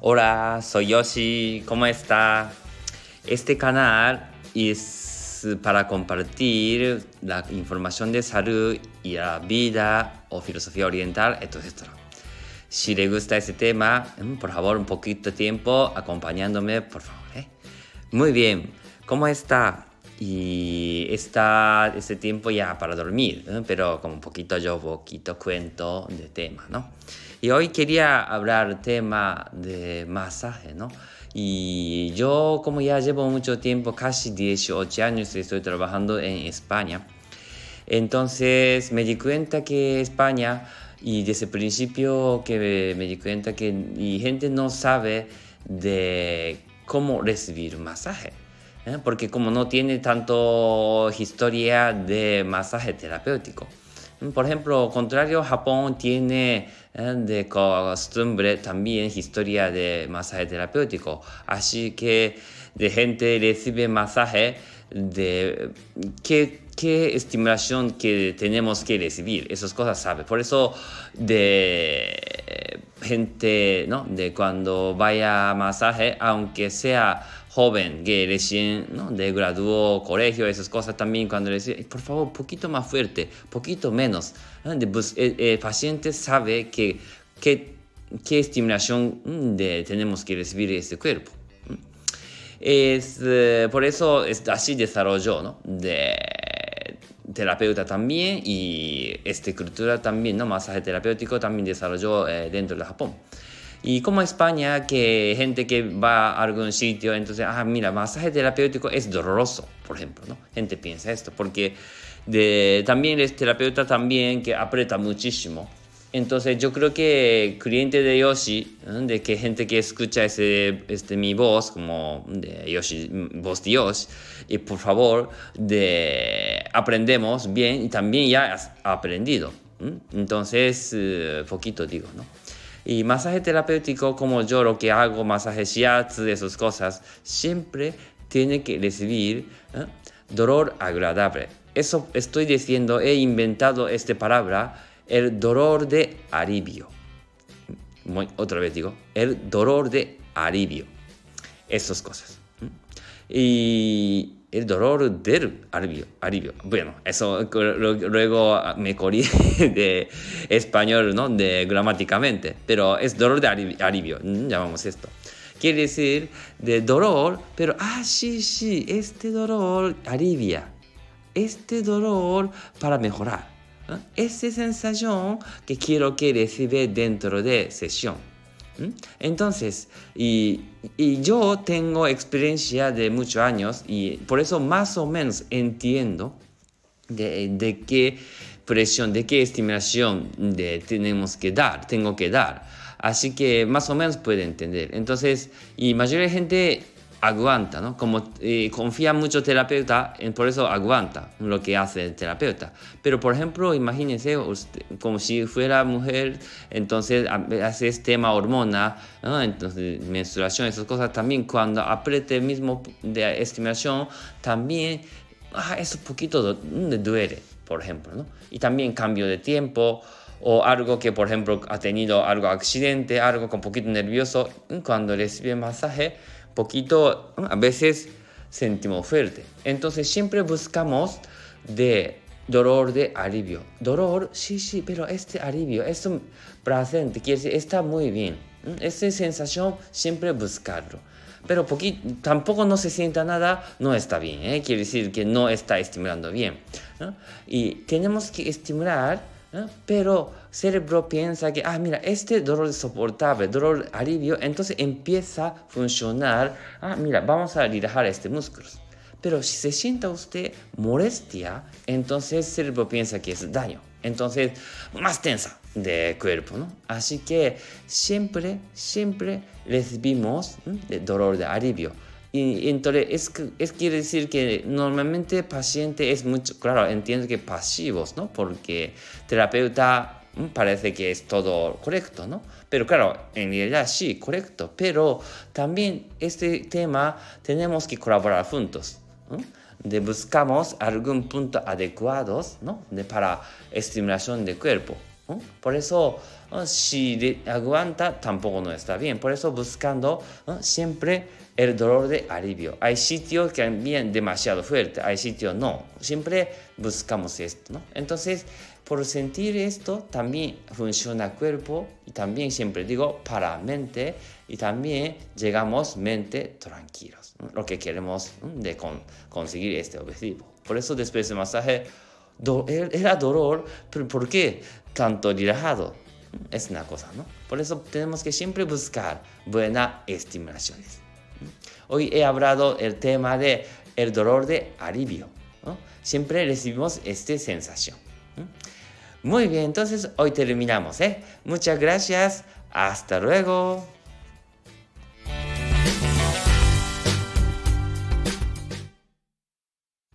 Hola, soy Yoshi, ¿cómo está? Este canal es para compartir la información de salud y la vida o filosofía oriental, etc. Si le gusta este tema, por favor, un poquito de tiempo acompañándome, por favor. Muy bien, ¿cómo está? Y está este tiempo ya para dormir, pero como un poquito cuento de tema, ¿no? Y hoy quería hablar tema de masaje, ¿no? Y yo como ya llevo mucho tiempo, casi 18 años, estoy trabajando en España. Entonces me di cuenta que España, y desde el principio que me di cuenta que y gente no sabe de cómo recibir masaje. Porque como no tiene tanto historia de masaje terapéutico. Por ejemplo, contrario, Japón tiene de costumbre también historia de masaje terapéutico. Así que de gente recibe masaje de qué estimulación que tenemos que recibir. Esas cosas sabe. Por eso de gente, ¿no? De cuando vaya a masaje, aunque sea joven que recién, ¿no? de graduó colegio, esas cosas también cuando le decía, por favor, un poquito más fuerte, poquito menos. El paciente sabe qué estimulación tenemos que recibir este cuerpo. Por eso así desarrolló, ¿no? De terapeuta también y esta cultura también, ¿no? Masaje terapéutico también desarrolló dentro de Japón. Y como España, que gente que va a algún sitio, entonces, mira, masaje terapéutico es doloroso, por ejemplo, ¿no? Gente piensa esto, porque también es terapeuta también que aprieta muchísimo. Entonces yo creo que cliente de Yoshi, de que gente que escucha mi voz, como de Yoshi, voz de Yoshi, y por favor, aprendemos bien y también ya has aprendido. Entonces, poquito digo, ¿no? Y masaje terapéutico, como yo lo que hago, masaje shiatsu, esas cosas, siempre tiene que recibir dolor agradable. Eso estoy diciendo, he inventado esta palabra, el dolor de alivio. Otra vez digo, el dolor de alivio. Esas cosas. Y el dolor del alivio. Bueno, eso luego me corrí de español, ¿no? De gramáticamente, pero es dolor de alivio, llamamos esto. Quiere decir de dolor, pero sí, este dolor alivia. Este dolor para mejorar. Esa sensación que quiero que reciba dentro de sesión. Entonces, y yo tengo experiencia de muchos años y por eso más o menos entiendo de qué presión, de qué estimulación tengo que dar. Así que más o menos puede entender. Entonces, y mayoría de gente aguanta, ¿no? Como confía mucho en el terapeuta, por eso aguanta lo que hace el terapeuta. Pero, por ejemplo, imagínense usted, como si fuera mujer, entonces hace este tema hormona, ¿no? Entonces menstruación, esas cosas también, cuando apriete el mismo de estimulación, también eso un poquito duele, por ejemplo, ¿no? Y también cambio de tiempo, o algo que, por ejemplo, ha tenido algo accidente, algo con poquito nervioso, cuando recibe masaje, poquito, a veces sentimos fuerte. Entonces siempre buscamos de dolor de alivio. Dolor, sí, pero este alivio, este placer, quiere decir, está muy bien. Esa sensación siempre buscarlo. Pero tampoco no se sienta nada, no está bien, quiere decir que no está estimulando bien, ¿no? Y tenemos que estimular, pero el cerebro piensa que, mira, este dolor es soportable, dolor alivio, entonces empieza a funcionar, mira, vamos a relajar este músculo. Pero si se sienta usted molestia, entonces el cerebro piensa que es daño. Entonces, más tensa de cuerpo, ¿no? Así que siempre recibimos dolor de alivio. Y entonces, quiere decir que normalmente el paciente es mucho, claro, entiendo que pasivos, ¿no? Porque terapeuta parece que es todo correcto, ¿no? Pero claro, en realidad sí, correcto. Pero también este tema tenemos que colaborar juntos, ¿no? Buscamos algún punto adecuado, ¿no? Para estimulación del cuerpo. Por eso, si aguanta, tampoco no está bien. Por eso buscando siempre el dolor de alivio. Hay sitios que también demasiado fuerte, hay sitios no. Siempre buscamos esto, ¿no? Entonces, por sentir esto, también funciona el cuerpo y también siempre digo para mente y también llegamos mente tranquilos, ¿no? Lo que queremos de conseguir este objetivo. Por eso después del masaje era dolor, pero ¿por qué tanto relajado? Es una cosa, ¿no? Por eso tenemos que siempre buscar buenas estimulaciones. Hoy he hablado el tema de el dolor de alivio, ¿no? Siempre recibimos esta sensación. Muy bien, entonces hoy terminamos, ¿eh? Muchas gracias. Hasta luego.